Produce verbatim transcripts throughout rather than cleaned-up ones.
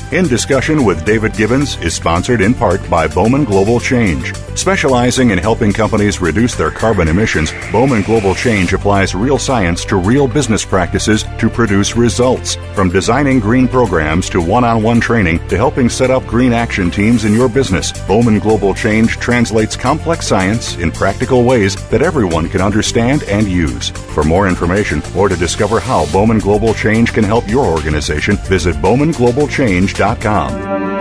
In Discussion with David Gibbons is sponsored in part by Bowman Global Change. Specializing in helping companies reduce their carbon emissions, Bowman Global Change applies real science to real business practices to produce results. From designing green programs to one-on-one training to helping set up green action teams in your business, Bowman Global Change translates complex science in practical ways that everyone can understand and use. For more information or to discover how Bowman Global Change can help your organization, visit bowman global change dot com.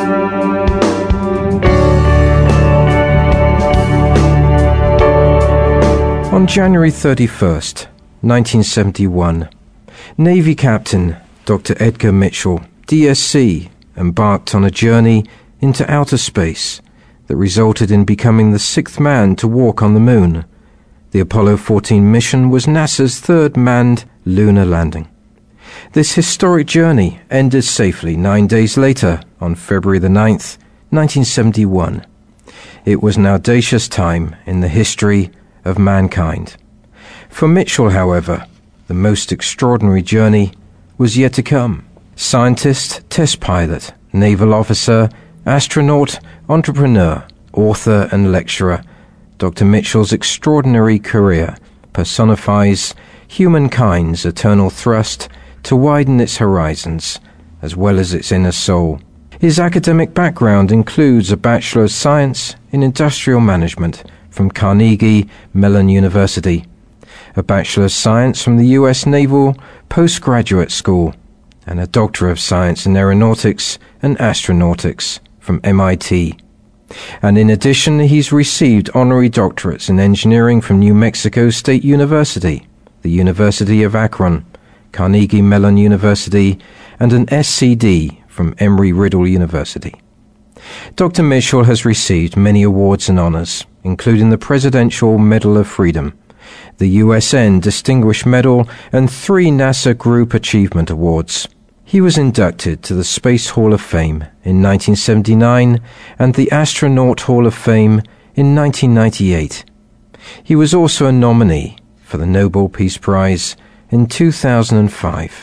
On January thirty-first, nineteen seventy-one, Navy Captain Doctor Edgar Mitchell, D S C, embarked on a journey into outer space that resulted in becoming the sixth man to walk on the moon. The Apollo fourteen mission was NASA's third manned lunar landing. This historic journey ended safely nine days later on February the ninth, nineteen seventy-one. It was an audacious time in the history of mankind. For Mitchell, however, the most extraordinary journey was yet to come. Scientist, test pilot, naval officer, astronaut, entrepreneur, author and lecturer, Doctor Mitchell's extraordinary career personifies humankind's eternal thrust to widen its horizons, as well as its inner soul. His academic background includes a Bachelor of Science in Industrial Management from Carnegie Mellon University, a Bachelor of Science from the U S Naval Postgraduate School, and a Doctor of Science in Aeronautics and Astronautics from M I T. And in addition, he's received honorary doctorates in engineering from New Mexico State University, the University of Akron, Carnegie Mellon University, and an S C D from Embry-Riddle University. Doctor Mitchell has received many awards and honors, including the Presidential Medal of Freedom, the U S N Distinguished Medal, and three NASA Group Achievement Awards. He was inducted to the Space Hall of Fame in nineteen seventy-nine and the Astronaut Hall of Fame in nineteen ninety-eight. He was also a nominee for the Nobel Peace Prize in two thousand five.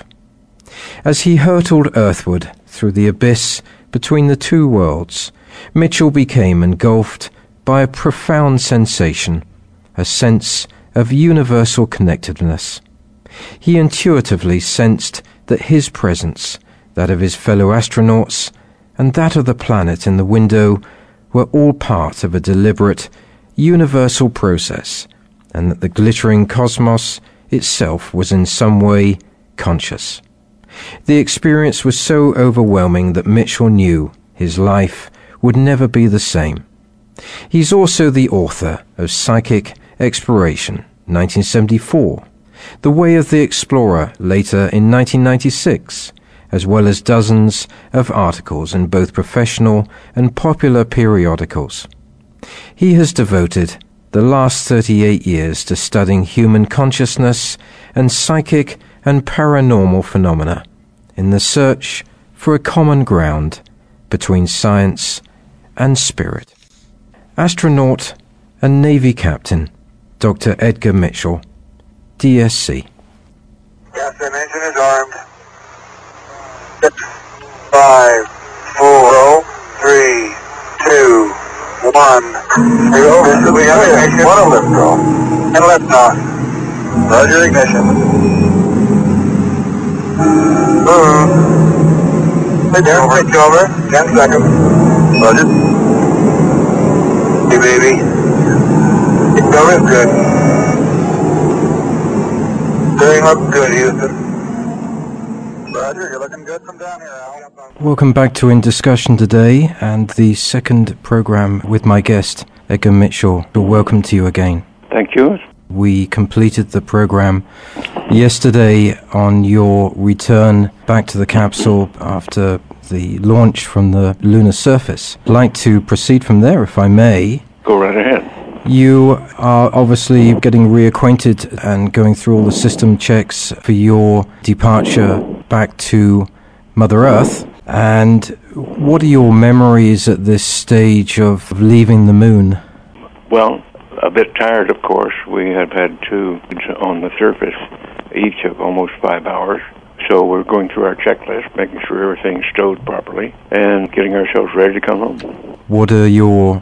As he hurtled earthward through the abyss between the two worlds, Mitchell became engulfed by a profound sensation, a sense of universal connectedness. He intuitively sensed that his presence, that of his fellow astronauts, and that of the planet in the window were all part of a deliberate, universal process, and that the glittering cosmos itself was in some way conscious. The experience was so overwhelming that Mitchell knew his life would never be the same. He's also the author of Psychic Exploration, nineteen seventy-four, The Way of the Explorer, later in nineteen ninety-six, as well as dozens of articles in both professional and popular periodicals. He has devoted the last thirty-eight years to studying human consciousness and psychic and paranormal phenomena in the search for a common ground between science and spirit. Astronaut and Navy Captain Doctor Edgar Mitchell, D S C. Gas engine is armed. Six, five, four, three, two, one, zero. This is the ignition. One lift off. And lift off. Roger ignition. Mm-hmm. Switch over. Switch over. Ten seconds. Roger. Hey baby. Switch over is good. Steering looks good, Houston. Roger, you're looking good from down here, Al. Welcome back to In Discussion today, and the second program with my guest, Edgar Mitchell. Welcome to you again. Thank you. We completed the program yesterday on your return back to the capsule after the launch from the lunar surface. I'd like to proceed from there, if I may. Go right ahead. You are obviously getting reacquainted and going through all the system checks for your departure back to Mother Earth. And what are your memories at this stage of leaving the moon? Well, a bit tired, of course. We have had two on the surface, each of almost five hours, So we're going through our checklist, making sure everything's stowed properly, and getting ourselves ready to come home. What are your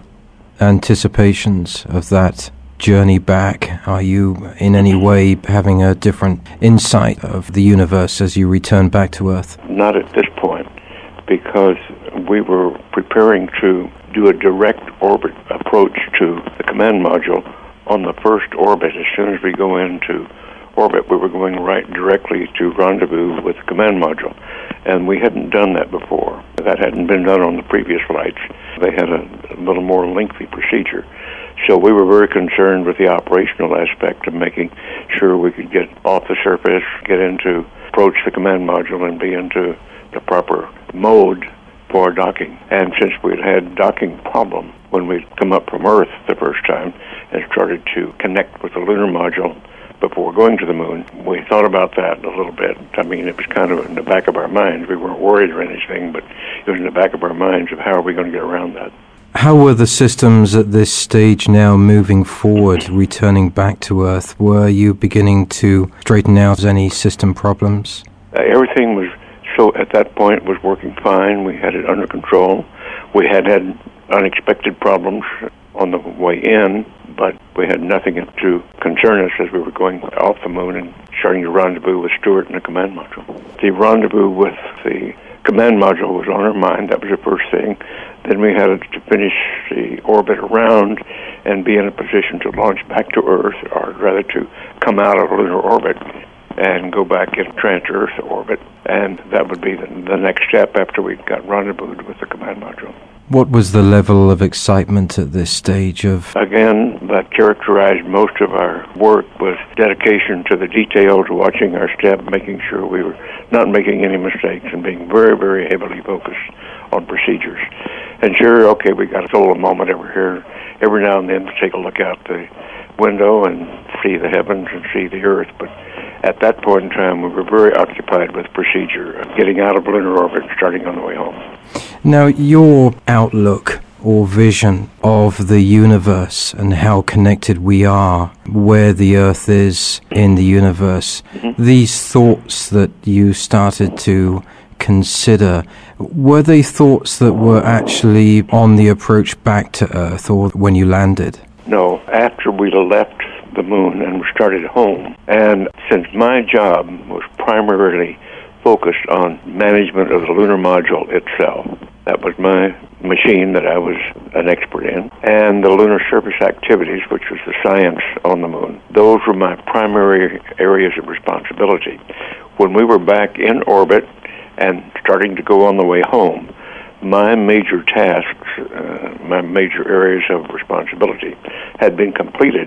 anticipations of that journey back? Are you in any way having a different insight of the universe as you return back to Earth? Not at this point, because we were preparing to do a direct orbit approach to the command module on the first orbit. As soon as we go into orbit, we were going right directly to rendezvous with the command module. And we hadn't done that before. That hadn't been done on the previous flights. They had a, a little more lengthy procedure. So we were very concerned with the operational aspect of making sure we could get off the surface, get into, approach the command module, and be into the proper mode for docking. And since we'd had docking problem when we'd come up from Earth the first time and started to connect with the lunar module before going to the moon, we thought about that a little bit. I mean, it was kind of in the back of our minds. We weren't worried or anything, but it was in the back of our minds of how are we going to get around that. How were the systems at this stage now moving forward, returning back to Earth? Were you beginning to straighten out any system problems? Uh, everything was, so at that point, was working fine. We had it under control. We had had unexpected problems on the way in, but we had nothing to concern us as we were going off the moon and starting to rendezvous with Stewart and the command module. The rendezvous with the command module was on our mind. That was the first thing. Then we had to finish the orbit around and be in a position to launch back to Earth, or rather to come out of lunar orbit and go back in trans-Earth orbit. And that would be the, the next step after we got rendezvoused with the command module. What was the level of excitement at this stage of... Again, that characterized most of our work was dedication to the detail, to watching our step, making sure we were not making any mistakes, and being very, very heavily focused on procedures. And sure, okay, we got a solo moment over here, every now and then to take a look out the window and see the heavens and see the Earth, but at that point in time, we were very occupied with procedure, getting out of lunar orbit and starting on the way home. Now, your outlook or vision of the universe and how connected we are, where the Earth is in the universe, mm-hmm. these thoughts that you started to consider, were they thoughts that were actually on the approach back to Earth or when you landed? No, after we left the moon and we started home. And since my job was primarily focused on management of the lunar module itself, that was my machine that I was an expert in, and the lunar surface activities, which was the science on the moon. Those were my primary areas of responsibility. When we were back in orbit and starting to go on the way home, my major tasks, uh, my major areas of responsibility had been completed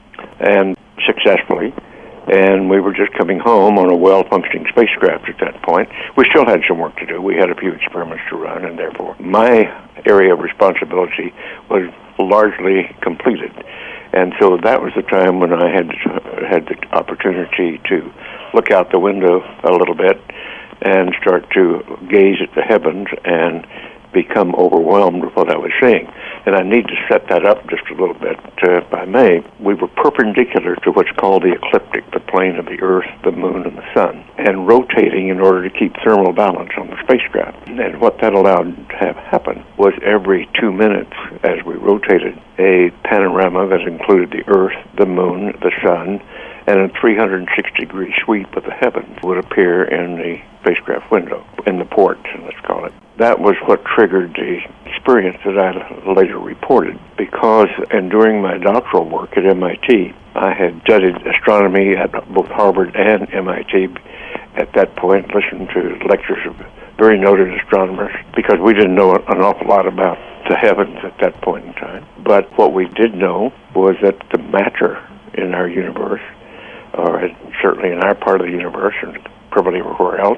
and successfully, and we were just coming home on a well-functioning spacecraft at that point. We still had some work to do. We had a few experiments to run, and therefore my area of responsibility was largely completed. And so that was the time when I had had the opportunity to look out the window a little bit and start to gaze at the heavens and become overwhelmed with what I was seeing. And I need to set that up just a little bit. Uh, by May, we were perpendicular to what's called the ecliptic, the plane of the Earth, the Moon, and the Sun, and rotating in order to keep thermal balance on the spacecraft. And what that allowed to have happen was every two minutes, as we rotated, a panorama that included the Earth, the Moon, the Sun, and a three hundred sixty degree sweep of the heavens would appear in the spacecraft window, in the port, let's call it. That was what triggered the experience that I later reported, because and during my doctoral work at M I T, I had studied astronomy at both Harvard and M I T. At that point, listened to lectures of very noted astronomers, because we didn't know an awful lot about the heavens at that point in time. But what we did know was that the matter in our universe, or certainly in our part of the universe, and probably everywhere else,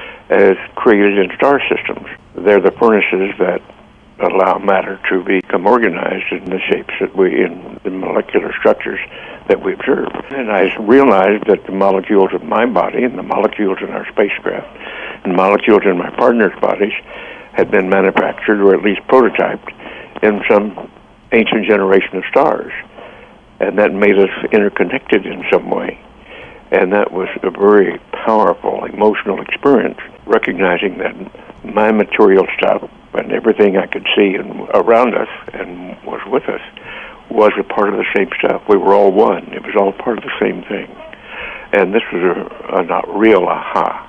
is created in star systems. They're the furnaces that allow matter to become organized in the shapes that we, in the molecular structures that we observe. And I realized that the molecules of my body and the molecules in our spacecraft and molecules in my partner's bodies had been manufactured, or at least prototyped, in some ancient generation of stars. And that made us interconnected in some way. And that was a very powerful emotional experience, recognizing that my material stuff and everything I could see and around us and was with us was a part of the same stuff. We were all one. It was all part of the same thing. And this was a, a not real aha.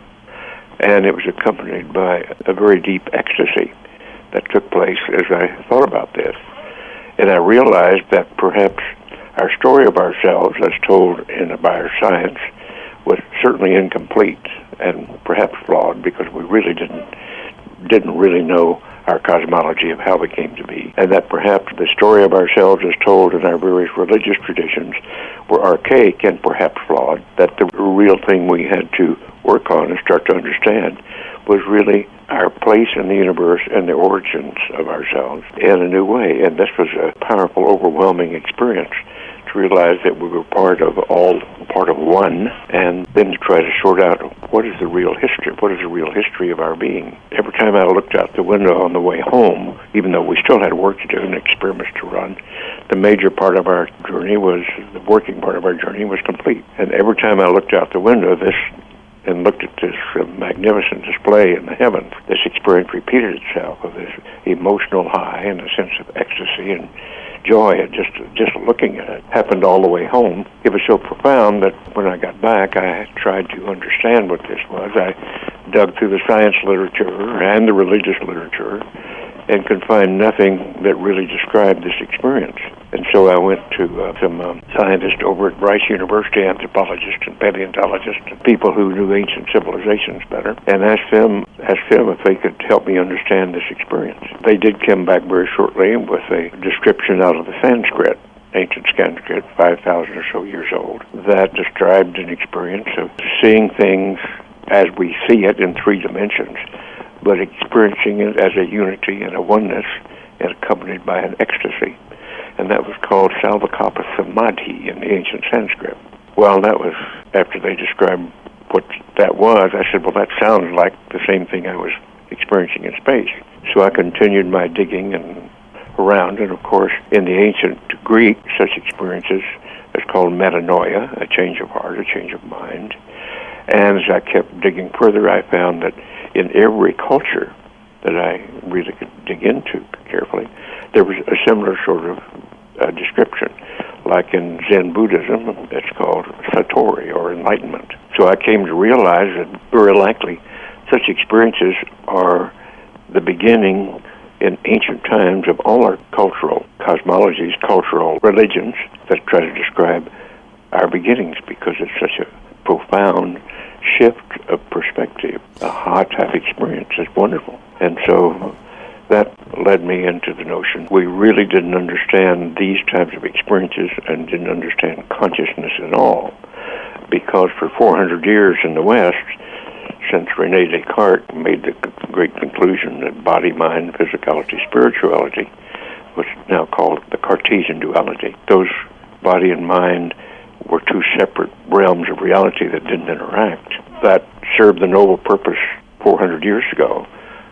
And it was accompanied by a very deep ecstasy that took place as I thought about this. And I realized that perhaps our story of ourselves, as told in by our science, was certainly incomplete and perhaps flawed because we really didn't didn't really know our cosmology of how we came to be, and that perhaps the story of ourselves as told in our various religious traditions were archaic and perhaps flawed, that the real thing we had to work on and start to understand was really our place in the universe and the origins of ourselves in a new way. And this was a powerful, overwhelming experience to realize that we were part of all, part of one, and then to try to sort out what is the real history, what is the real history of our being. Every time I looked out the window on the way home, even though we still had work to do and experiments to run, the major part of our journey was, the working part of our journey was complete. And every time I looked out the window, this and looked at this uh, magnificent display in the heavens, this experience repeated itself of this emotional high and a sense of ecstasy and joy at just just looking at it. Happened all the way home. It was so profound that when I got back, I tried to understand what this was. I dug through the science literature and the religious literature and could find nothing that really described this experience. And so I went to uh, some um, scientists over at Rice University, anthropologists and paleontologists, and people who knew ancient civilizations better, and asked them, asked them if they could help me understand this experience. They did come back very shortly with a description out of the Sanskrit, ancient Sanskrit, five thousand or so years old, that described an experience of seeing things as we see it in three dimensions, but experiencing it as a unity and a oneness, and accompanied by an ecstasy. And that was called Salvakapa Samadhi in the ancient Sanskrit. Well, that was, after they described what that was, I said, well, that sounds like the same thing I was experiencing in space. So I continued my digging and around, and of course, in the ancient Greek, such experiences is called metanoia, a change of heart, a change of mind. And as I kept digging further, I found that in every culture that I really could dig into carefully, there was a similar sort of uh, description. Like in Zen Buddhism, it's called Satori, or enlightenment. So I came to realize that very likely such experiences are the beginning in ancient times of all our cultural cosmologies, cultural religions that try to describe our beginnings, because it's such a profound shift of perspective. A aha type experience is wonderful. And so that led me into the notion we really didn't understand these types of experiences and didn't understand consciousness at all, because for four hundred years in the West, since René Descartes made the great conclusion that body, mind, physicality, spirituality, what's now called the Cartesian duality, those body and mind were two separate realms of reality that didn't interact. That served the noble purpose four hundred years ago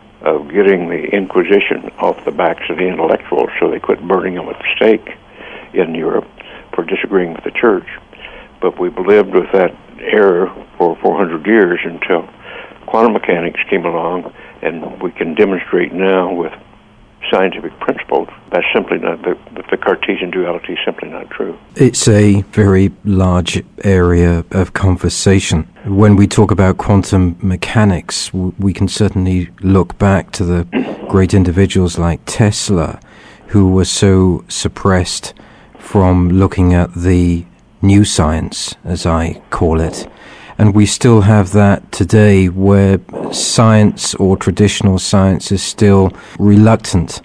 of getting the Inquisition off the backs of the intellectuals so they quit burning them at the stake in Europe for disagreeing with the church. But we've lived with that error for four hundred years until quantum mechanics came along, and we can demonstrate now with scientific principles that's simply not, the, the Cartesian duality is simply not true. It's a very large area of conversation. When we talk about quantum mechanics, we can certainly look back to the great individuals like Tesla, who were so suppressed from looking at the new science, as I call it. And we still have that today, where science or traditional science is still reluctant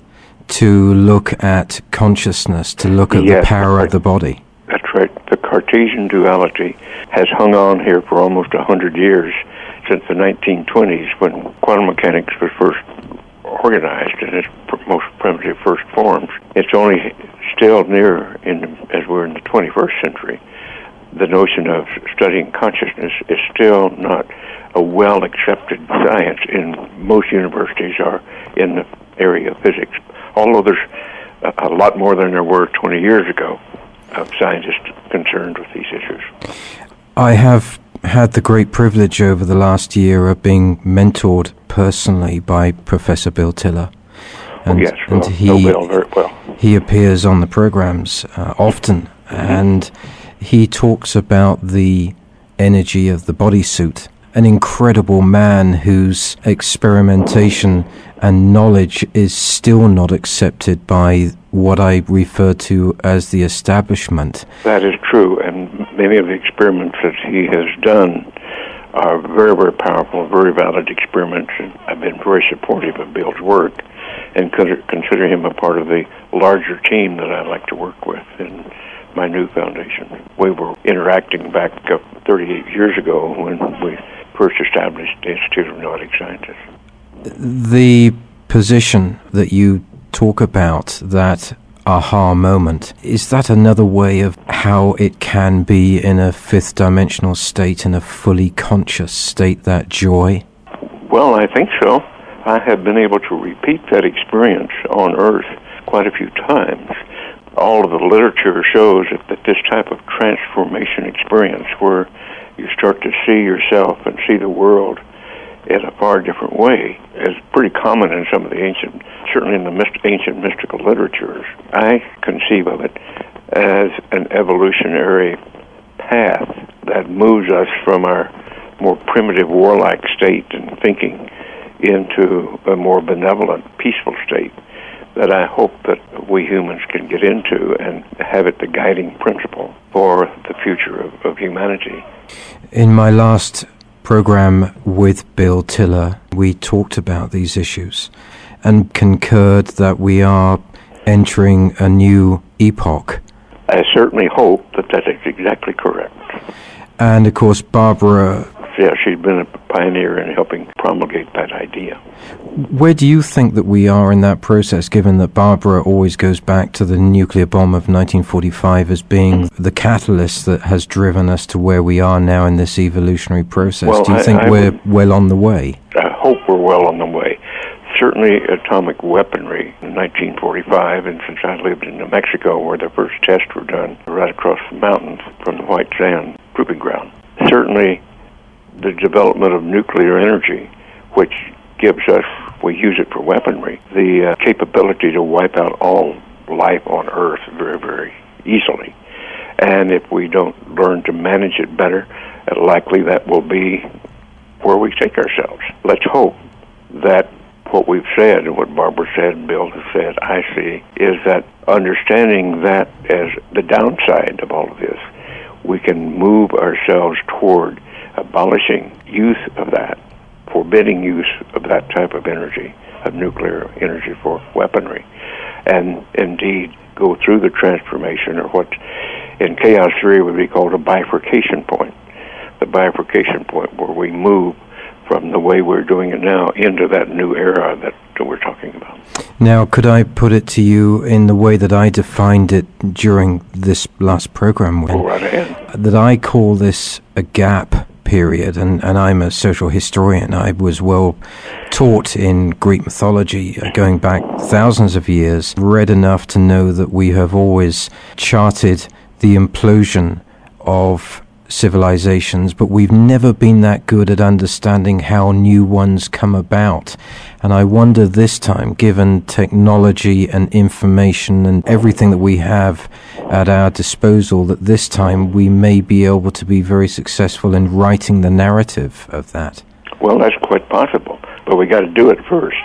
to look at consciousness, to look at yes, the power right. of the body. That's right. The Cartesian duality has hung on here for almost one hundred years, since the nineteen twenties, when quantum mechanics was first organized in its most primitive first forms. It's only still near, in, as we're in the twenty-first century, the notion of studying consciousness is still not a well-accepted science in most universities or in the area of physics, although there's a, a lot more than there were twenty years ago of scientists concerned with these issues. I have had the great privilege over the last year of being mentored personally by Professor Bill Tiller. And, oh, yes, well, and he, know Bill very well. He appears on the programs uh, often, mm-hmm. and he talks about the energy of the bodysuit, an incredible man whose experimentation and knowledge is still not accepted by what I refer to as the establishment. That is true, and many of the experiments that he has done are very, very powerful, very valid experiments, and I've been very supportive of Bill's work and consider him a part of the larger team that I like to work with in my new foundation. We were interacting back thirty-eight years ago when we first established the Institute of Noetic Sciences. The position that you talk about, that aha moment, is that another way of how it can be in a fifth dimensional state, in a fully conscious state, that joy? Well, I think so. I have been able to repeat that experience on Earth quite a few times. All of the literature shows that this type of transformation experience, where you start to see yourself and see the world in a far different way, is pretty common in some of the ancient, certainly in the myst- ancient mystical literatures. I conceive of it as an evolutionary path that moves us from our more primitive warlike state and thinking into a more benevolent, peaceful state that I hope that we humans can get into and have it the guiding principle for the future of, of humanity. In my last program with Bill Tiller, we talked about these issues and concurred that we are entering a new epoch. I certainly hope that that is exactly correct. And of course, Barbara... Yeah, she's been a pioneer in helping promulgate that idea. Where do you think that we are in that process, given that Barbara always goes back to the nuclear bomb of nineteen forty-five as being the catalyst that has driven us to where we are now in this evolutionary process? Well, do you I, think I we're would, well on the way? I hope we're well on the way. Certainly atomic weaponry in nineteen forty-five, and since I lived in New Mexico where the first tests were done right across the mountains from the White Sand Proving Ground. Certainly the development of nuclear energy, which gives us, we use it for weaponry, the uh, capability to wipe out all life on Earth very, very easily. And if we don't learn to manage it better, uh, likely that will be where we take ourselves. Let's hope that what we've said and what Barbara said and Bill has said, I see, is that understanding that as the downside of all of this, we can move ourselves toward abolishing use of that, forbidding use of that type of energy, of nuclear energy for weaponry, and indeed go through the transformation, or what in chaos theory would be called a bifurcation point, the bifurcation point where we move from the way we're doing it now into that new era that we're talking about. Now, could I put it to you in the way that I defined it during this last program? When, Go right ahead. That I call this a gap period, and, and I'm a social historian. I was well taught in Greek mythology, uh, going back thousands of years, read enough to know that we have always charted the implosion of civilizations, but we've never been that good at understanding how new ones come about. And I wonder this time, given technology and information and everything that we have at our disposal, that this time we may be able to be very successful in writing the narrative of that. Well, that's quite possible, but we got to do it first,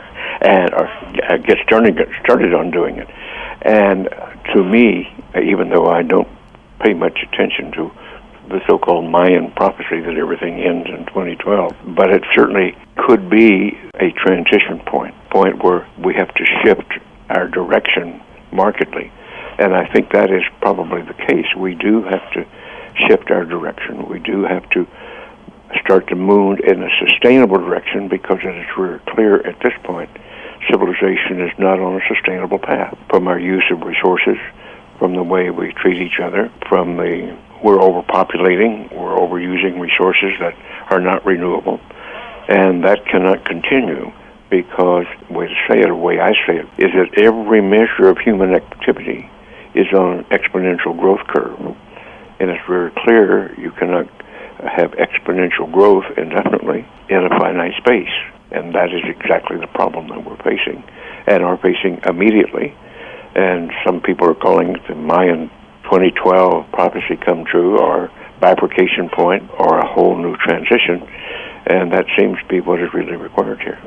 and or get started, get started on doing it. And to me, even though I don't pay much attention to the so-called Mayan prophecy that everything ends in twenty twelve, but it certainly could be a transition point, point where we have to shift our direction markedly. And I think that is probably the case. We do have to shift our direction. We do have to start to move in a sustainable direction, because it is very clear at this point civilization is not on a sustainable path, from our use of resources, from the way we treat each other, from the we're overpopulating, we're overusing resources that are not renewable, and that cannot continue, because the way to say it, the way I say it, is that every measure of human activity is on an exponential growth curve, and it's very clear you cannot have exponential growth indefinitely in a finite space. And that is exactly the problem that we're facing, and are facing immediately. And some people are calling it the Mayan twenty twelve prophecy come true, or bifurcation point, or a whole new transition. And that seems to be what is really required here.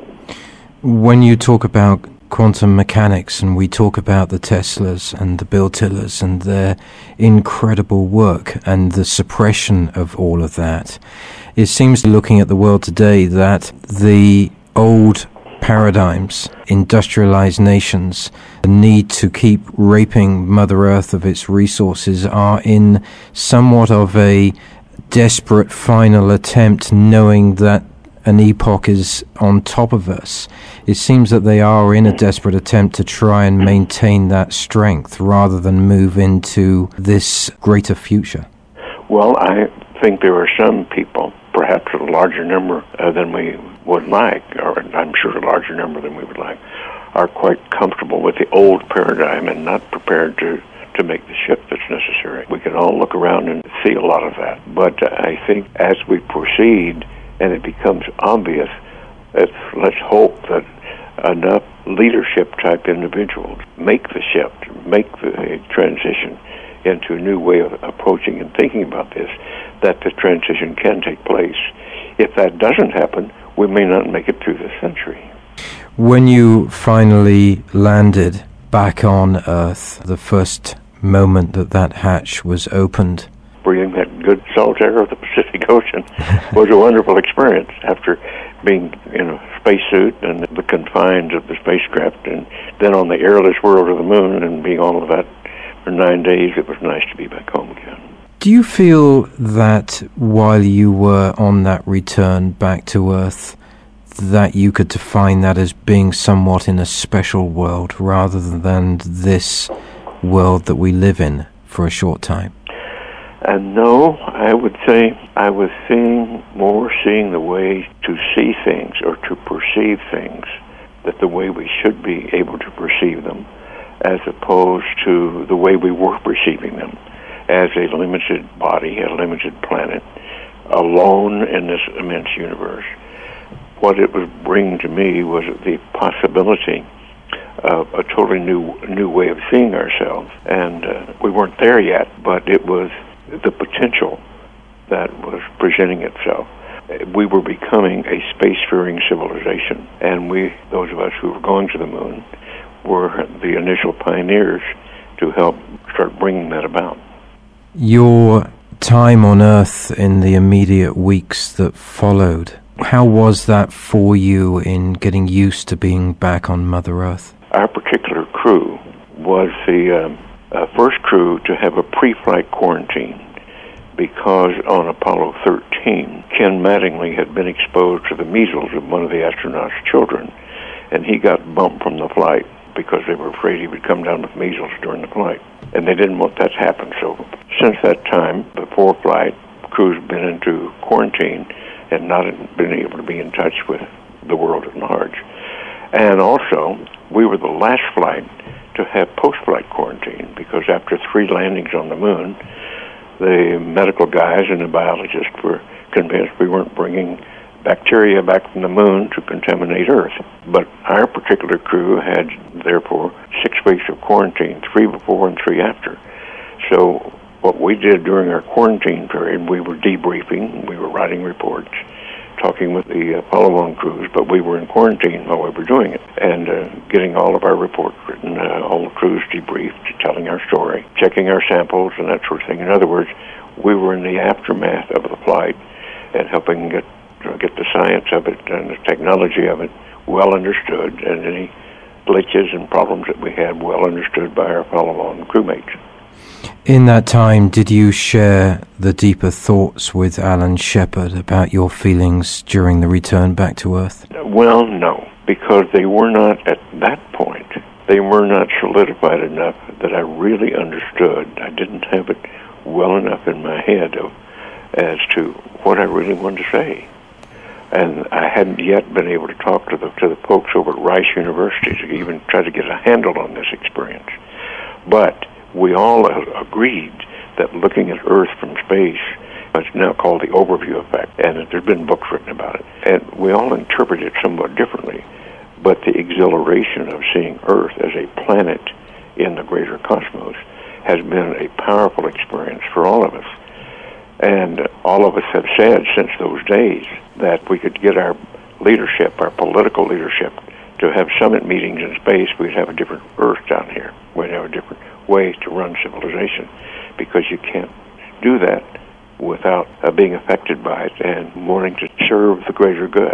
When you talk about quantum mechanics, and we talk about the Teslas and the Bill Tillers and their incredible work and the suppression of all of that, it seems, looking at the world today, that the old paradigms, industrialized nations, the need to keep raping Mother Earth of its resources, are in somewhat of a desperate final attempt, knowing that an epoch is on top of us. It seems that they are in a desperate attempt to try and maintain that strength rather than move into this greater future. Well, I think there are some people, perhaps a larger number uh, than we would like, or I'm sure a larger number than we would like, are quite comfortable with the old paradigm and not prepared to, to make the shift that's necessary. We can all look around and see a lot of that. But uh, I think as we proceed and it becomes obvious, let's, let's hope that enough leadership-type individuals make the shift, make the transition into a new way of approaching and thinking about this, that the transition can take place. If that doesn't happen, we may not make it through this century. When you finally landed back on Earth, the first moment that that hatch was opened, breathing that good salt air of the Pacific Ocean was a wonderful experience after being in a spacesuit and the confines of the spacecraft, and then on the airless world of the moon and being all of that for nine days. It was nice to be back home again. Do you feel that while you were on that return back to Earth, that you could define that as being somewhat in a special world rather than this world that we live in for a short time? And no, I would say I was seeing more seeing the way to see things or to perceive things, that the way we should be able to perceive them, as opposed to the way we were perceiving them, as a limited body, a limited planet, alone in this immense universe. What it was bringing to me was the possibility of a totally new new way of seeing ourselves. And uh, we weren't there yet, but it was the potential that was presenting itself. We were becoming a spacefaring civilization, and we, those of us who were going to the moon, were the initial pioneers to help start bringing that about. Your time on Earth in the immediate weeks that followed, how was that for you in getting used to being back on Mother Earth? Our particular crew was the um, uh, first crew to have a pre-flight quarantine, because on Apollo thirteen, Ken Mattingly had been exposed to the measles of one of the astronauts' children, and he got bumped from the flight because they were afraid he would come down with measles during the flight. And they didn't want that to happen. So since that time, before flight, crews have been into quarantine and not been able to be in touch with the world at large. And also, we were the last flight to have post-flight quarantine, because after three landings on the moon, the medical guys and the biologists were convinced we weren't bringing bacteria back from the moon to contaminate Earth. But our particular crew had, therefore, six weeks of quarantine, three before and three after. So what we did during our quarantine period, we were debriefing, we were writing reports, talking with the uh, follow-on crews, but we were in quarantine while we were doing it, and uh, getting all of our reports written, uh, all the crews debriefed, telling our story, checking our samples, and that sort of thing. In other words, we were in the aftermath of the flight and helping get uh, get the science of it and the technology of it well understood, and any glitches and problems that we had well understood by our follow-on crewmates. In that time, did you share the deeper thoughts with Alan Shepard about your feelings during the return back to Earth? Well, no, because they were not, at that point, they were not solidified enough that I really understood. I didn't have it well enough in my head of, as to what I really wanted to say. And I hadn't yet been able to talk to the to the folks over at Rice University to even try to get a handle on this experience. But we all agreed that looking at Earth from space what's now called the overview effect, and there's been books written about it. And we all interpret it somewhat differently, but the exhilaration of seeing Earth as a planet in the greater cosmos has been a powerful experience for all of us. And all of us have said since those days that we could get our leadership, our political leadership, to have summit meetings in space, we'd have a different Earth down here. We'd have a different way to run civilization, because you can't do that without uh, being affected by it and wanting to serve the greater good.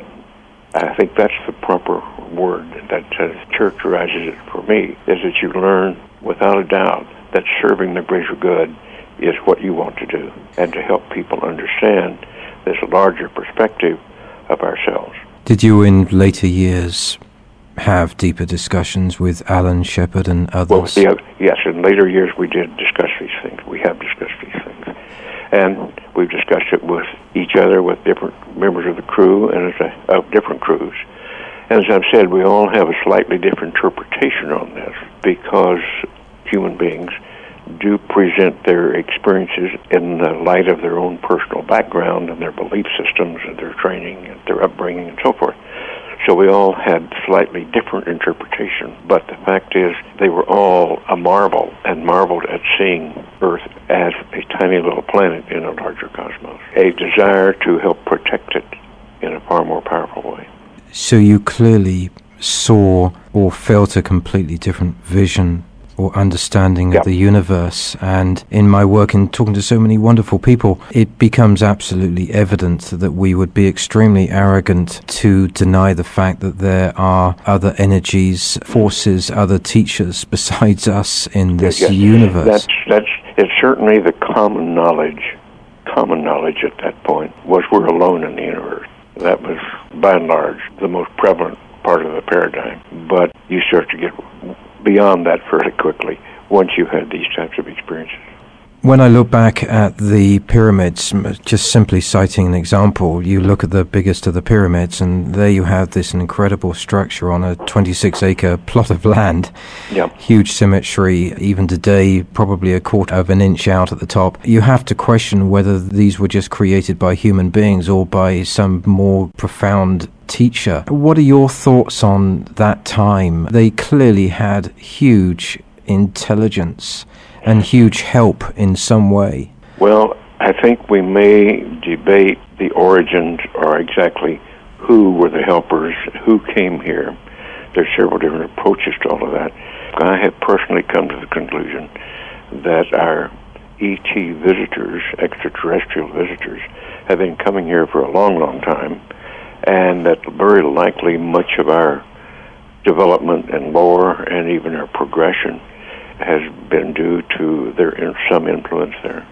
I think that's the proper word that uh, characterizes it for me, is that you learn without a doubt that serving the greater good is what you want to do, and to help people understand this larger perspective of ourselves. Did you in later years have deeper discussions with Alan Shepard and others? Well, yeah, yes, in later years we did discuss these things. We have discussed these things. And we've discussed it with each other, with different members of the crew, and as a, of different crews. And as I've said, we all have a slightly different interpretation on this, because human beings do present their experiences in the light of their own personal background and their belief systems and their training and their upbringing and so forth. So we all had slightly different interpretation, but the fact is they were all a marvel and marveled at seeing Earth as a tiny little planet in a larger cosmos, a desire to help protect it in a far more powerful way. So you clearly saw or felt a completely different vision or understanding yep. of the universe. And in my work in talking to so many wonderful people, it becomes absolutely evident that we would be extremely arrogant to deny the fact that there are other energies, forces, other teachers besides us in this yes, universe. That's, that's, it's certainly the common knowledge, common knowledge at that point was we're alone in the universe. That was, by and large, the most prevalent part of the paradigm. But you start to get beyond that fairly quickly once you've had these types of experiences. When I look back at the pyramids, just simply citing an example, you look at the biggest of the pyramids, and there you have this incredible structure on a twenty-six acre plot of land. Yep. Huge symmetry, even today, probably a quarter of an inch out at the top. You have to question whether these were just created by human beings or by some more profound teacher. What are your thoughts on that time? They clearly had huge intelligence and huge help in some way. Well, I think we may debate the origins or exactly who were the helpers, who came here. There's several different approaches to all of that. I have personally come to the conclusion that our E T visitors, extraterrestrial visitors, have been coming here for a long, long time, and that very likely much of our development and lore and even our progression has been due to their some influence there.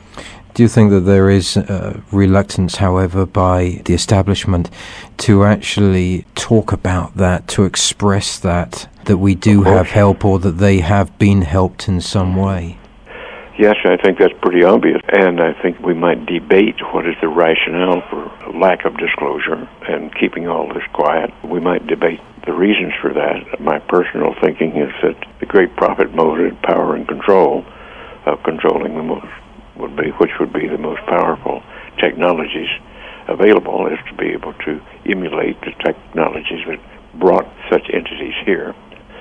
Do you think that there is uh, reluctance, however, by the establishment to actually talk about that, to express that, that we do have help or that they have been helped in some way? Yes, I think that's pretty obvious, and I think we might debate what is the rationale for lack of disclosure and keeping all this quiet. We might debate the reasons for that. My personal thinking is that the great profit motive, power and control of controlling the most would be, which would be the most powerful technologies available, is to be able to emulate the technologies that brought such entities here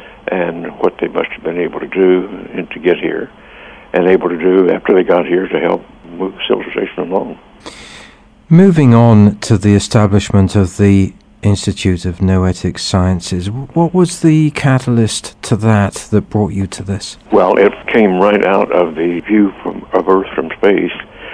and what they must have been able to do and to get here, and able to do after they got here to help move civilization along. Moving on to the establishment of the Institute of Noetic Sciences, what was the catalyst to that that brought you to this? Well, it came right out of the view from, of Earth from space,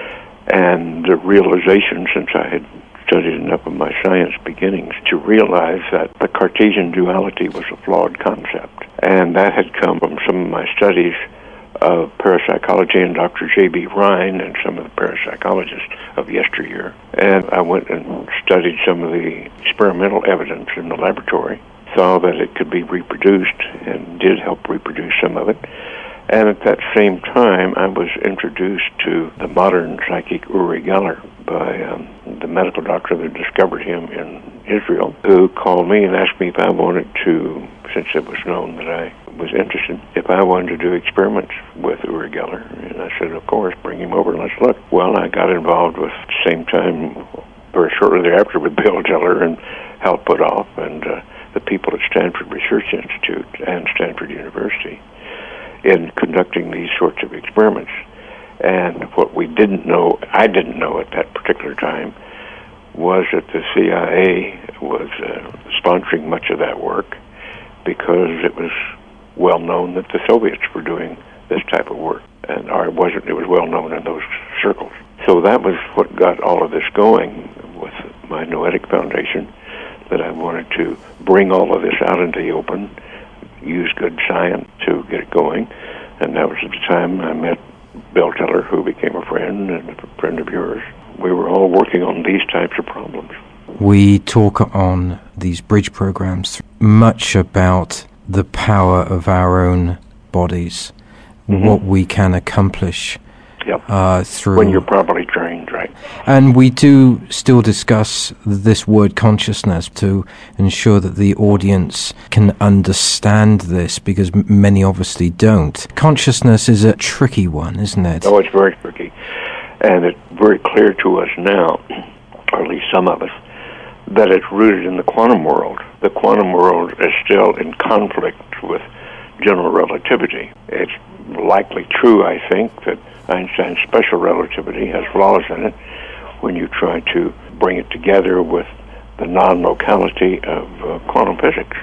and the realization, since I had studied enough of my science beginnings, to realize that the Cartesian duality was a flawed concept. And that had come from some of my studies of parapsychology and Doctor J B Rhine and some of the parapsychologists of yesteryear. And I went and studied some of the experimental evidence in the laboratory, saw that it could be reproduced and did help reproduce some of it, And at that same time, I was introduced to the modern psychic Uri Geller by um, the medical doctor that discovered him in Israel, who called me and asked me if I wanted to, since it was known that I was interested, if I wanted to do experiments with Uri Geller. And I said, of course, bring him over and let's look. Well, I got involved with the same time, very shortly thereafter, with Bill Geller and Hal Puthoff and uh, the people at Stanford Research Institute and Stanford University in conducting these sorts of experiments. And what we didn't know, I didn't know at that particular time, was that the C I A was uh, sponsoring much of that work because it was well known that the Soviets were doing this type of work. And or it wasn't, it was well known in those circles. So that was what got all of this going with my Noetic Foundation, that I wanted to bring all of this out into the open, use good science to get it going. And that was at the time I met Bill Geller, who became a friend and a friend of yours. We were all working on these types of problems. We talk on these bridge programs much about the power of our own bodies, mm-hmm. what we can accomplish yep. uh, through... when you're properly trained, right. And we do still discuss this word consciousness to ensure that the audience can understand this, because m- many obviously don't. Consciousness is a tricky one, isn't it? Oh, it's very tricky. And it's very clear to us now, or at least some of us, that it's rooted in the quantum world. The quantum world is still in conflict with general relativity. It's likely true, I think, that Einstein's special relativity has flaws in it when you try to bring it together with the non-locality of uh, quantum physics.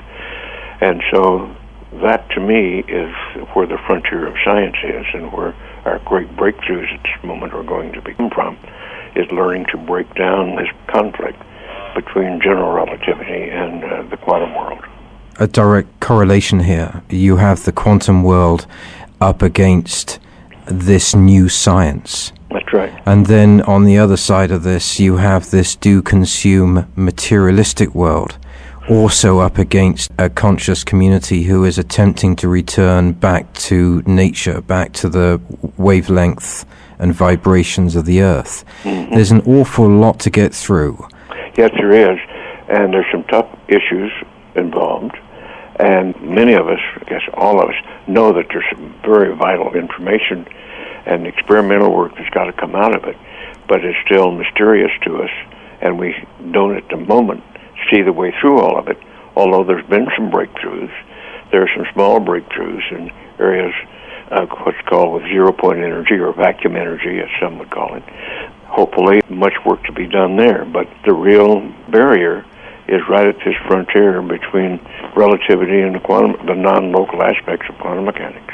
And so that, to me, is where the frontier of science is, and where our great breakthroughs at this moment are going to come from, is learning to break down this conflict between general relativity and uh, the quantum world. A direct correlation here. You have the quantum world up against this new science. That's right. And then on the other side of this, you have this do-consume materialistic world, also up against a conscious community who is attempting to return back to nature, back to the wavelength and vibrations of the earth. Mm-hmm. There's an awful lot to get through. Yes, there is. And there's some tough issues involved. And many of us, I guess all of us, know that there's some very vital information and experimental work that's got to come out of it. But it's still mysterious to us, and we don't at the moment see the way through all of it, although there's been some breakthroughs. There are some small breakthroughs in areas of what's called with zero-point energy, or vacuum energy, as some would call it. Hopefully, much work to be done there, but the real barrier is right at this frontier between relativity and the quantum, the non-local aspects of quantum mechanics.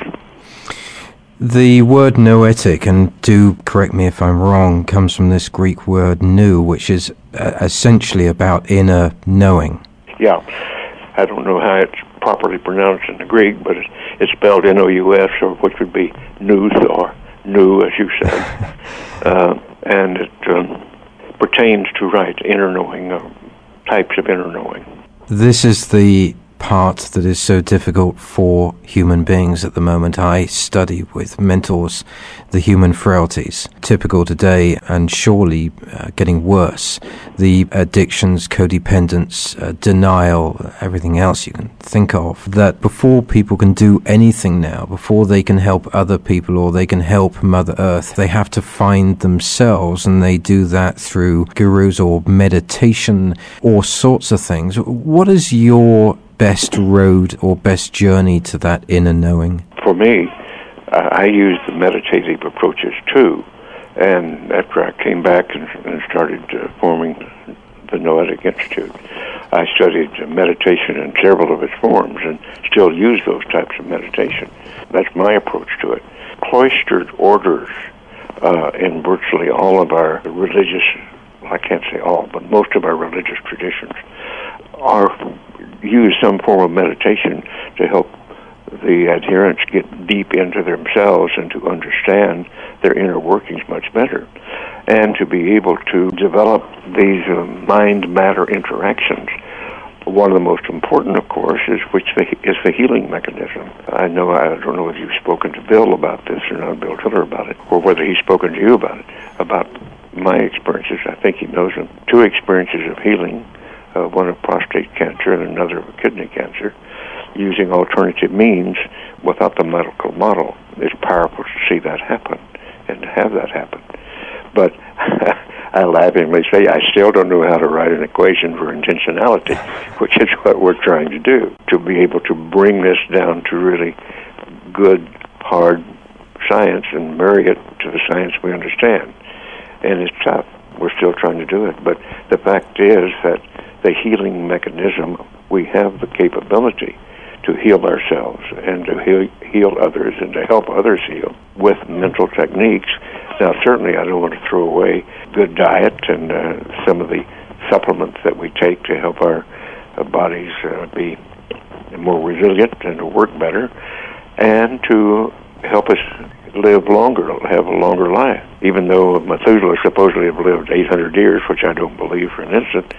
The word noetic, and do correct me if I'm wrong, comes from this Greek word nous, which is uh, essentially about inner knowing. Yeah. I don't know how it's properly pronounced in the Greek, but it's, it's spelled N O U S, or which would be nous, or nous, as you said. uh, and it um, pertains to, right, inner knowing, uh, types of inner knowing. This is the part that is so difficult for human beings at the moment. I study with mentors the human frailties, typical today and surely uh, getting worse. The addictions, codependence, uh, denial, everything else you can think of. That before people can do anything now, before they can help other people or they can help Mother Earth, they have to find themselves, and they do that through gurus or meditation, all sorts of things. What is your best road or best journey to that inner knowing? For me, uh, I use the meditative approaches too. And after I came back and, and started uh, forming the Noetic Institute, I studied uh, meditation in several of its forms and still use those types of meditation. That's my approach to it. Cloistered orders uh, in virtually all of our religious, well, I can't say all, but most of our religious traditions are use some form of meditation to help the adherents get deep into themselves and to understand their inner workings much better, and to be able to develop these uh, mind-matter interactions one of the most important, of course, is which the, is the healing mechanism. I know I don't know if you've spoken to Bill about this or not, Bill Tiller about it, or whether he's spoken to you about it, about my experiences. I think he knows them. Two experiences of healing, uh, one of prostate cancer and another of kidney cancer, using alternative means without the medical model. It's powerful to see that happen and to have that happen. But I laughingly say I still don't know how to write an equation for intentionality, which is what we're trying to do, to be able to bring this down to really good, hard science and marry it to the science we understand. And it's tough. We're still trying to do it. But the fact is that the healing mechanism, we have the capability to heal ourselves and to heal, heal others and to help others heal with mental techniques. Now, certainly I don't want to throw away good diet and uh, some of the supplements that we take to help our uh, bodies uh, be more resilient and to work better and to help us live longer, have a longer life. Even though Methuselah supposedly have lived eight hundred years, which I don't believe for an instant,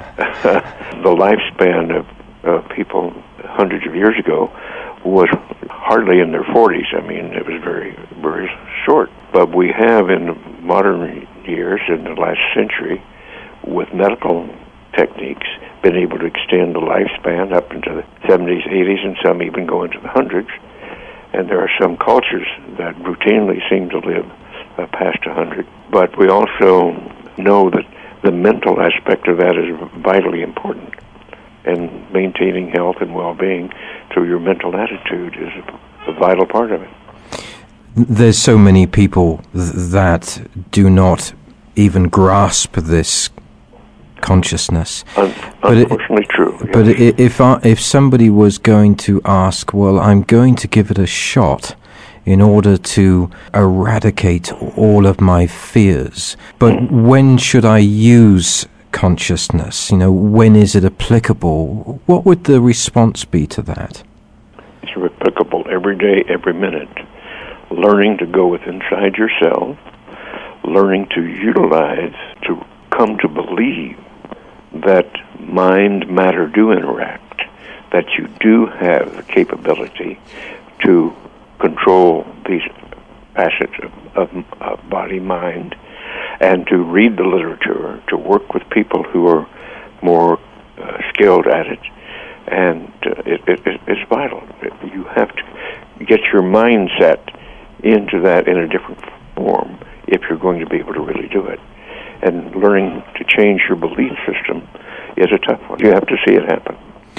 the lifespan of uh, people hundreds of years ago was hardly in their forties. I mean, it was very, very short. But we have in modern years, in the last century, with medical techniques, been able to extend the lifespan up into the seventies, eighties, and some even go into the hundreds. And there are some cultures that routinely seem to live uh, past one hundred. But we also know that the mental aspect of that is vitally important. And maintaining health and well-being through your mental attitude is a, a vital part of it. There's so many people th- that do not even grasp this consciousness. Un- but unfortunately it, true. Yes. But it, if I, if somebody was going to ask, well, I'm going to give it a shot in order to eradicate all of my fears, but mm. when should I use consciousness? You know, when is it applicable? What would the response be to that? It's applicable every day, every minute. Learning to go with inside yourself, learning to utilize, to come to believe that mind, matter do interact, that you do have the capability to control these facets of, of, of body, mind, and to read the literature, to work with people who are more uh, skilled at it. And uh, it, it, it's vital. You have to get your mindset into that in a different form if you're going to be able to really do it. And learning to change your belief system is a tough one. You have to see it happen.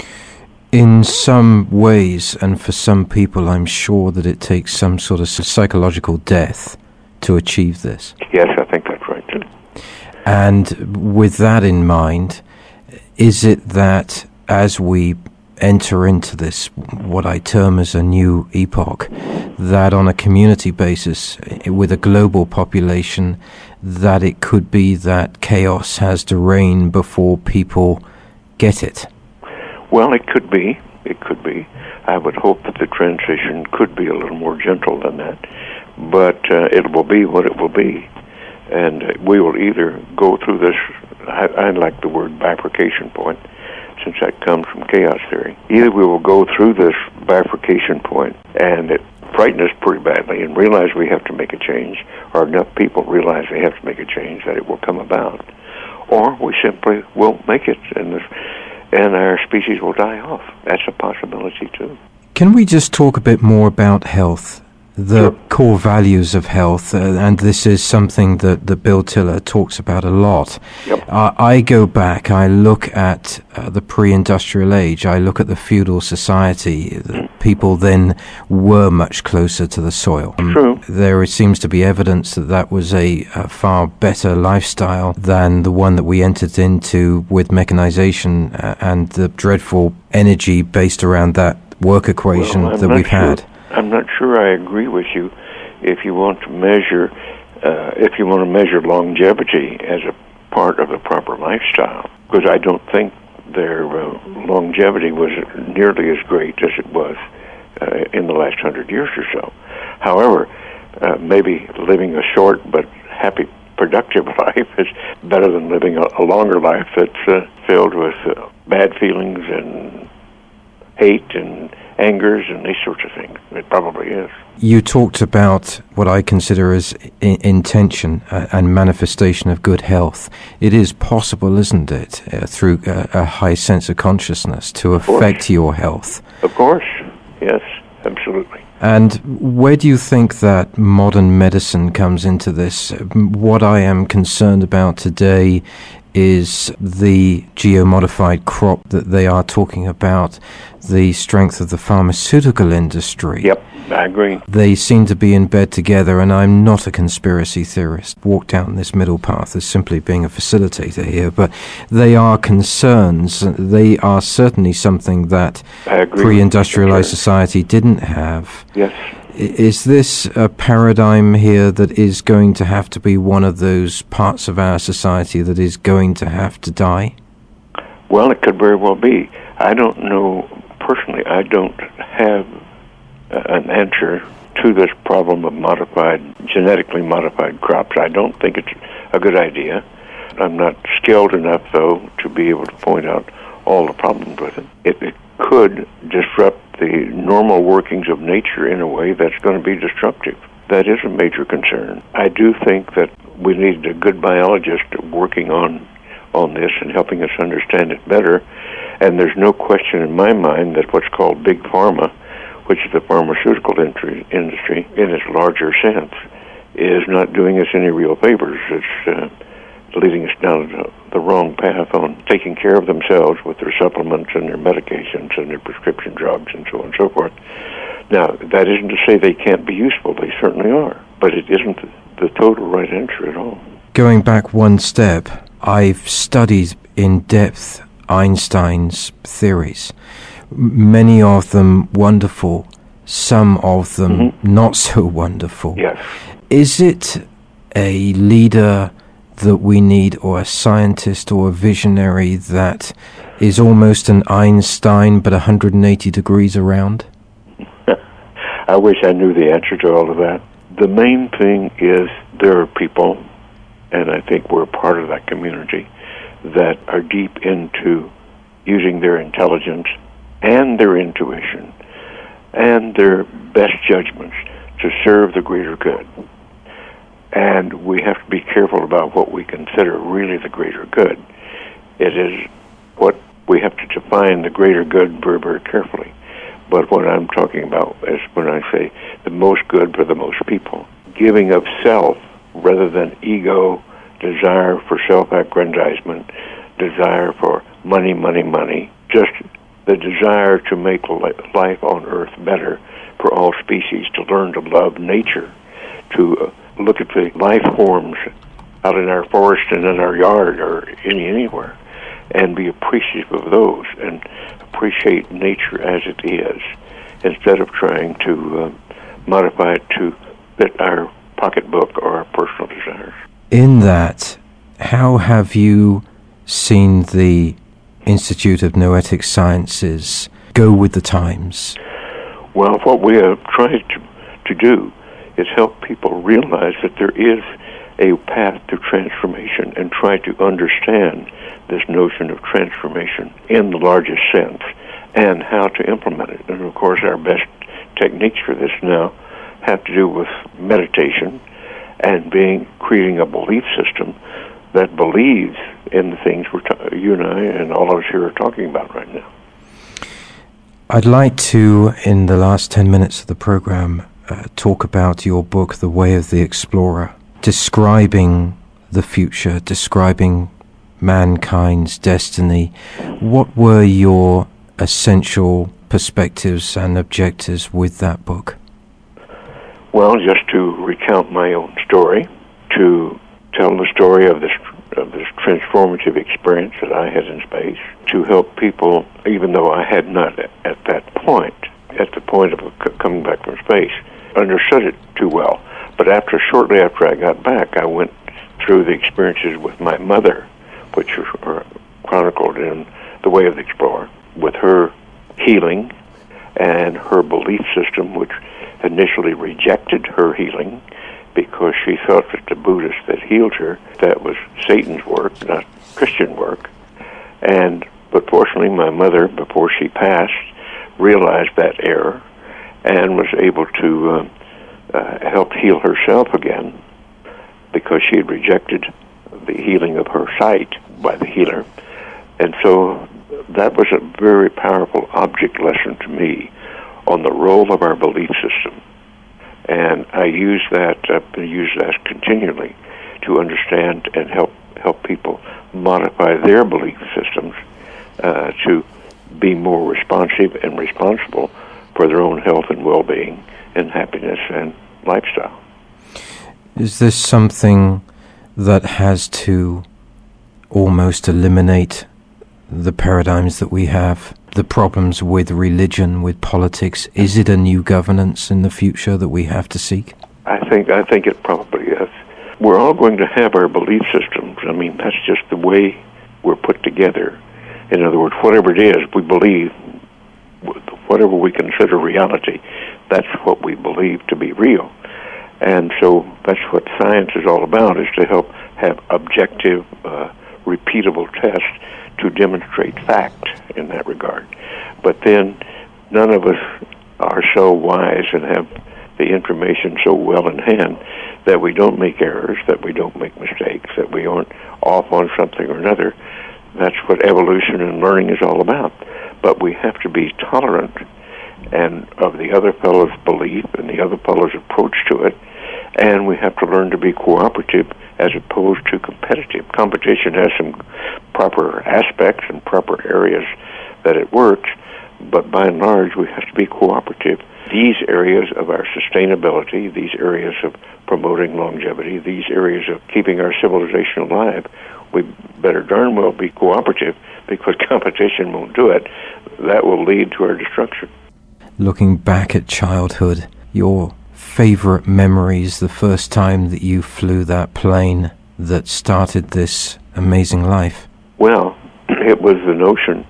In some ways, and for some people, I'm sure that it takes some sort of psychological death to achieve this. Yes, I think that's right, too. And with that in mind, is it that as we enter into this, what I term as a new epoch, that on a community basis, with a global population, that it could be that chaos has to reign before people get it? Well, it could be. It could be. I would hope that the transition could be a little more gentle than that. But uh, it will be what it will be. And uh, we will either go through this, I, I like the word bifurcation point, since that comes from chaos theory. Either we will go through this bifurcation point and it frighten us pretty badly and realize we have to make a change, or enough people realize they have to make a change that it will come about, or we simply won't make it and this, and our species will die off. That's a possibility too. Can we just talk a bit more about health? The sure. core values of health, uh, and this is something that, that Bill Tiller talks about a lot. Yep. Uh, I go back, I look at uh, the pre-industrial age, I look at the feudal society. The people then were much closer to the soil. Um, True. There seems to be evidence that that was a, a far better lifestyle than the one that we entered into with mechanization uh, and the dreadful energy based around that work equation well, that we've sure. had. I'm not sure I agree with you if you want to measure uh, if you want to measure longevity as a part of the proper lifestyle, because I don't think their uh, longevity was nearly as great as it was uh, in the last hundred years or so. However, uh, maybe living a short but happy productive life is better than living a, a longer life that's uh, filled with uh, bad feelings and hate and angers and these sorts of things. It probably is. You talked about what I consider as I- intention uh, and manifestation of good health. It is possible, isn't it, uh, through a, a high sense of consciousness to affect your health? Of course, yes, absolutely. And where do you think that modern medicine comes into this? What I am concerned about today is the geomodified crop that they are talking about, the strength of the pharmaceutical industry. Yep, I agree. They seem to be in bed together, and I'm not a conspiracy theorist. Walk down this middle path as simply being a facilitator here, but they are concerns. They are certainly something that pre-industrialized society didn't have. Yes. Is this a paradigm here that is going to have to be one of those parts of our society that is going to have to die? Well, it could very well be. I don't know, personally, I don't have an answer to this problem of modified, genetically modified crops. I don't think it's a good idea. I'm not skilled enough, though, to be able to point out all the problems with it. It, it could disrupt the normal workings of nature in a way that's going to be destructive. That is a major concern. I do think that we need a good biologist working on on this and helping us understand it better. And there's no question in my mind that what's called Big Pharma, which is the pharmaceutical industry, industry in its larger sense, is not doing us any real favors. It's uh, leading us down the, the wrong path on taking care of themselves with their supplements and their medications and their prescription drugs and so on and so forth. Now, that isn't to say they can't be useful. They certainly are. But it isn't the total right answer at all. Going back one step, I've studied in depth Einstein's theories. Many of them wonderful, some of them mm-hmm. not so wonderful. Yes. Is it a leader that we need, or a scientist or a visionary that is almost an Einstein but one hundred eighty degrees around? I wish I knew the answer to all of that. The main thing is there are people, and I think we're part of that community, that are deep into using their intelligence and their intuition and their best judgments to serve the greater good. And we have to be careful about what we consider really the greater good. It is what we have to define the greater good very, very carefully. But what I'm talking about is when I say the most good for the most people. Giving of self rather than ego, desire for self-aggrandizement, desire for money, money, money, just the desire to make life on Earth better for all species, to learn to love nature, to uh, look at the life forms out in our forest and in our yard or any anywhere, and be appreciative of those and appreciate nature as it is, instead of trying to uh, modify it to fit our pocketbook or our personal desires. In that, how have you seen the Institute of Noetic Sciences go with the times? Well, what we have tried to, to do is help people realize that there is a path to transformation and try to understand this notion of transformation in the largest sense and how to implement it. And of course, our best techniques for this now have to do with meditation and being creating a belief system that believes in the things we're ta- you and I and all of us here are talking about right now. I'd like to, in the last ten minutes of the program, uh, talk about your book, The Way of the Explorer, describing the future, describing mankind's destiny. What were your essential perspectives and objectives with that book? Well, just to recount my own story, to tell the story of this of this transformative experience that I had in space, to help people, even though I had not at that point, at the point of c- coming back from space, understood it too well. But after, shortly after I got back, I went through the experiences with my mother, which are chronicled in The Way of the Explorer, with her healing and her belief system, which initially rejected her healing because she thought that the Buddhist that healed her, that was Satan's work, not Christian work. And but fortunately, my mother, before she passed, realized that error and was able to uh, uh, help heal herself again, because she had rejected the healing of her sight by the healer. And so that was a very powerful object lesson to me on the role of our belief system. And I use that, I've used that continually to understand and help help people modify their belief systems uh, to be more responsive and responsible for their own health and well-being and happiness and lifestyle. Is this something that has to almost eliminate the paradigms that we have, the problems with religion, with politics? Is it a new governance in the future that we have to seek? I think I think it probably is. We're all going to have our belief systems. I mean, that's just the way we're put together. In other words, whatever it is we believe, whatever we consider reality, that's what we believe to be real. And so that's what science is all about, is to help have objective, uh, repeatable tests to demonstrate fact in that regard. But then none of us are so wise and have the information so well in hand that we don't make errors, that we don't make mistakes, that we aren't off on something or another. That's what evolution and learning is all about. But we have to be tolerant and of the other fellow's belief and the other fellow's approach to it, and we have to learn to be cooperative as opposed to competitive. Competition has some proper aspects and proper areas that it works, but by and large we have to be cooperative. These areas of our sustainability, these areas of promoting longevity, these areas of keeping our civilization alive, we better darn well be cooperative, because competition won't do it. That will lead to our destruction. Looking back at childhood, your favorite memories, the first time that you flew that plane that started this amazing life? Well, it was the notion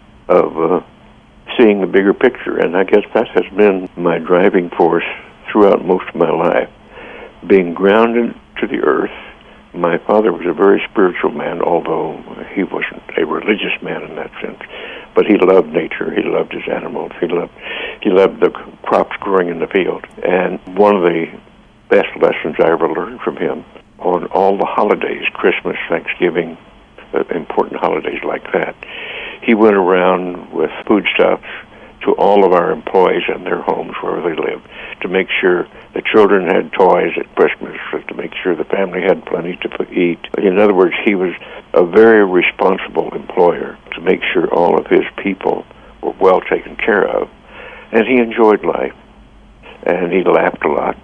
of uh, seeing the bigger picture, and I guess that has been my driving force throughout most of my life. Being grounded to the earth. My father was a very spiritual man, although he wasn't a religious man in that sense. But he loved nature. He loved his animals. He loved he loved the crops growing in the field. And one of the best lessons I ever learned from him, on all the holidays, Christmas, Thanksgiving, uh, important holidays like that, he went around with foodstuffs to all of our employees in their homes wherever they lived, to make sure the children had toys at Christmas, to make sure the family had plenty to eat. In other words, he was a very responsible employer to make sure all of his people were well taken care of. And he enjoyed life, and he laughed a lot.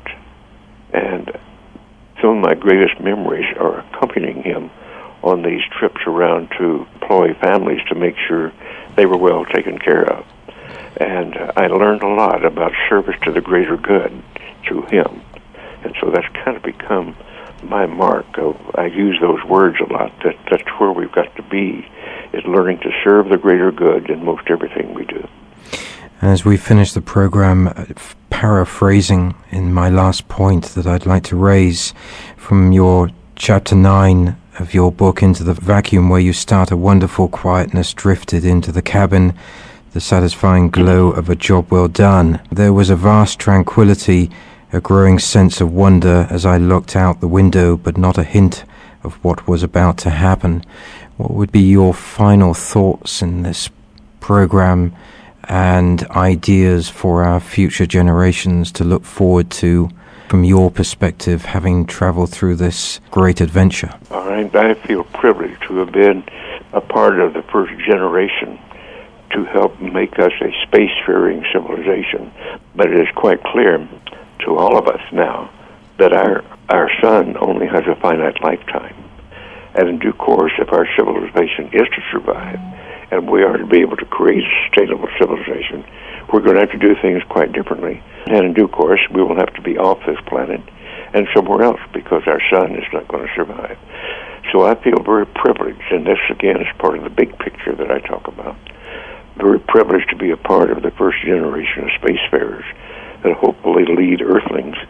And some of my greatest memories are accompanying him on these trips around to employee families to make sure they were well taken care of. And uh, I learned a lot about service to the greater good through him. And so that's kind of become my mark. Of, I use those words a lot. That That's where we've got to be, is learning to serve the greater good in most everything we do. As we finish the program, paraphrasing in my last point that I'd like to raise from your chapter nine of your book, Into the Vacuum, where you start, a wonderful quietness drifted into the cabin, the satisfying glow of a job well done. There was a vast tranquility, a growing sense of wonder as I looked out the window, but not a hint of what was about to happen. What would be your final thoughts in this program and ideas for our future generations to look forward to, from your perspective, having traveled through this great adventure? All right, I feel privileged to have been a part of the first generation to help make us a spacefaring civilization. But it is quite clear to all of us now that our our sun only has a finite lifetime. And in due course, if our civilization is to survive, and we are to be able to create a sustainable civilization, we're going to have to do things quite differently. And in due course, we will have to be off this planet and somewhere else, because our sun is not going to survive. So I feel very privileged, and this again is part of the big picture that I talk about. Very privileged to be a part of the first generation of spacefarers that hopefully lead Earthlings to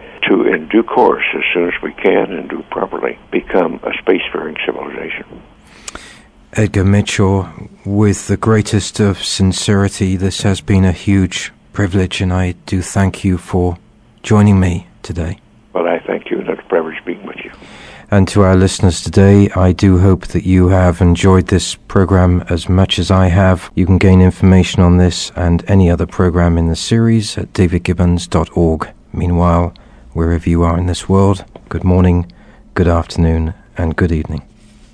in due course, as soon as we can and do properly, become a spacefaring civilization. Edgar Mitchell, with the greatest of sincerity, this has been a huge privilege, and I do thank you for joining me today. Well, I thank you, and it's a privilege being with you. And to our listeners today, I do hope that you have enjoyed this program as much as I have. You can gain information on this and any other program in the series at david gibbons dot org. Meanwhile, wherever you are in this world, good morning, good afternoon, and good evening.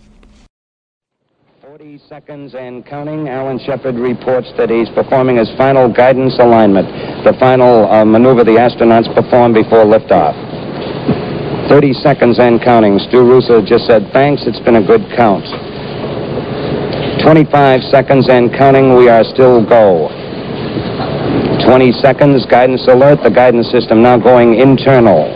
forty seconds and counting. Alan Shepard reports that he's performing his final guidance alignment, the final uh, maneuver the astronauts perform before liftoff. thirty seconds and counting. Stu Russo just said, thanks, it's been a good count. twenty-five seconds and counting. We are still go. twenty seconds, guidance alert. The guidance system now going internal.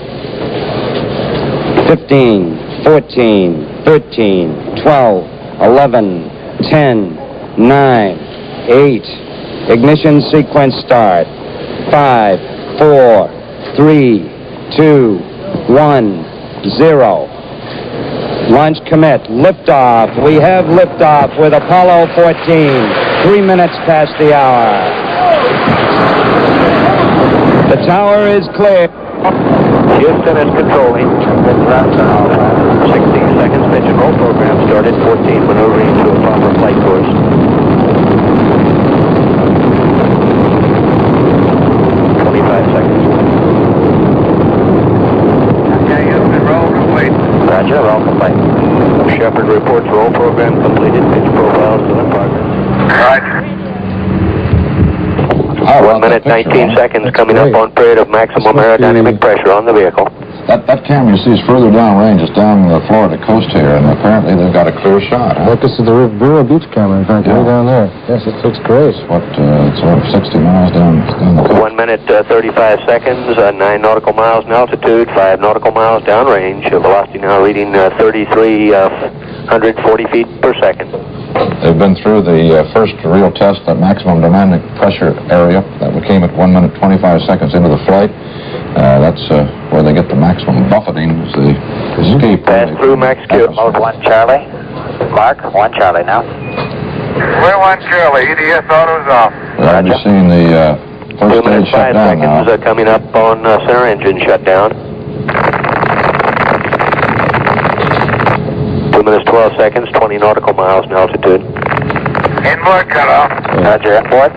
fifteen, fourteen, thirteen, twelve, eleven, ten, nine, eight. Ignition sequence start. five, four, three, two, one, zero. Launch commit. Liftoff. We have liftoff with Apollo fourteen. Three minutes past the hour. The tower is clear. Houston is controlling. sixteen seconds. Pitch and roll program started. fourteen maneuvering to a proper flight course. twenty-five seconds. Okay, Houston, roll complete. Roger, roll complete. Shepard reports roll program completed. Pitch profile still in progress. Roger. One minute, nineteen seconds coming up on period of maximum aerodynamic pressure on the vehicle. That, that camera you see is further downrange. It's down the Florida coast here, and apparently they've got a clear shot. Huh? Look, this is the Vero Beach camera, in fact, Yeah. way down there. Yes, it looks great. What, uh, it's over sixty miles down, down the coast. One minute, uh, thirty-five seconds, uh, nine nautical miles in altitude, five nautical miles downrange. Uh, velocity now reading uh, thirty-three hundred forty feet per second. They've been through the uh, first real test, that maximum dynamic pressure area. That came at one minute, twenty-five seconds into the flight. Uh, that's uh, where they get the maximum buffeting, is the escape. Pass through max Q. Mode one Charlie. Mark, one Charlie now. We're one Charlie. E D S auto's off. I'll be seeing the uh, first Two stage minutes, shut five down seconds now. uh, coming up on uh, center engine shutdown. Two minutes, twelve seconds, twenty nautical miles in altitude. Inboard cutoff. Roger, inboard.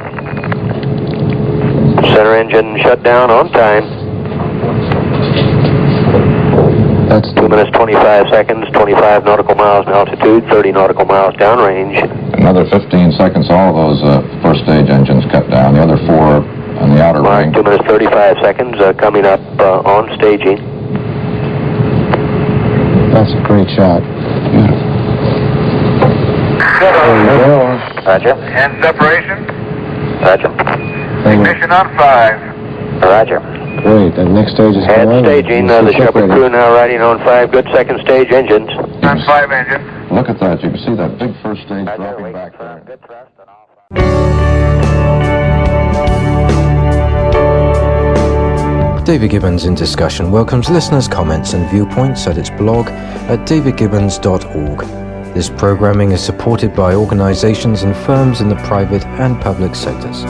Center engine shut down on time. That's Two minutes, twenty-five seconds, twenty-five nautical miles in altitude, thirty nautical miles downrange. Another fifteen seconds, all of those uh, first stage engines cut down. The other four on the outer Mark, ring. two minutes, thirty-five seconds, uh, coming up uh, on staging. that's a great shot. Beautiful. Cutoff. Roger. End separation. Roger. Ignition on five. Roger. Great. That next stage is Head going on. staging, uh, the Shepard crew now riding on five good second stage engines. On five engine. Look at that. You can see that big first stage Roger, dropping wait back for there. good thrust and all. David Gibbons in Discussion welcomes listeners' comments and viewpoints at its blog at david gibbons dot org. This programming is supported by organizations and firms in the private and public sectors.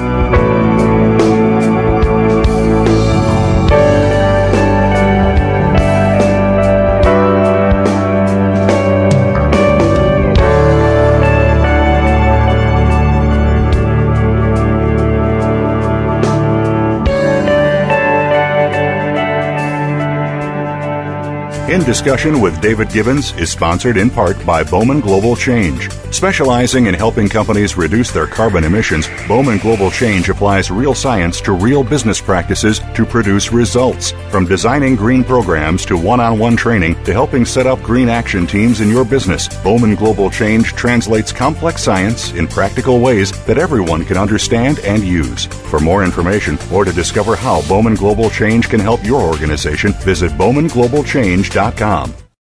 In Discussion with David Gibbons is sponsored in part by Bowman Global Change. Specializing in helping companies reduce their carbon emissions, Bowman Global Change applies real science to real business practices to produce results. From designing green programs to one-on-one training to helping set up green action teams in your business, Bowman Global Change translates complex science in practical ways that everyone can understand and use. For more information or to discover how Bowman Global Change can help your organization, visit bowman global change dot com.